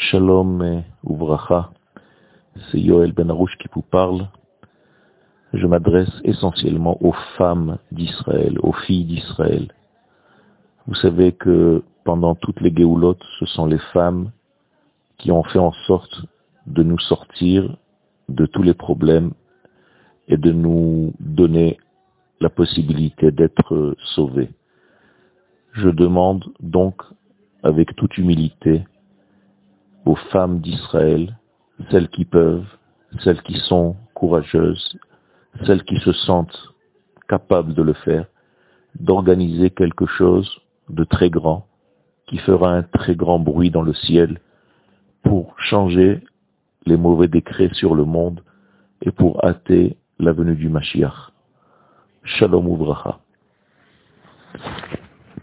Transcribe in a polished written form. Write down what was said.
Shalom Uvracha, c'est Yoel Ben Arush qui vous parle. Je m'adresse essentiellement aux femmes d'Israël, aux filles d'Israël. Vous savez que pendant toutes les Géoulotes, ce sont les femmes qui ont fait en sorte de nous sortir de tous les problèmes et de nous donner la possibilité d'être sauvés. Je demande donc avec toute humilité aux femmes d'Israël, celles qui peuvent, celles qui sont courageuses, celles qui se sentent capables de le faire, d'organiser quelque chose de très grand, qui fera un très grand bruit dans le ciel, pour changer les mauvais décrets sur le monde et pour hâter la venue du Mashiach. Shalom Uvracha.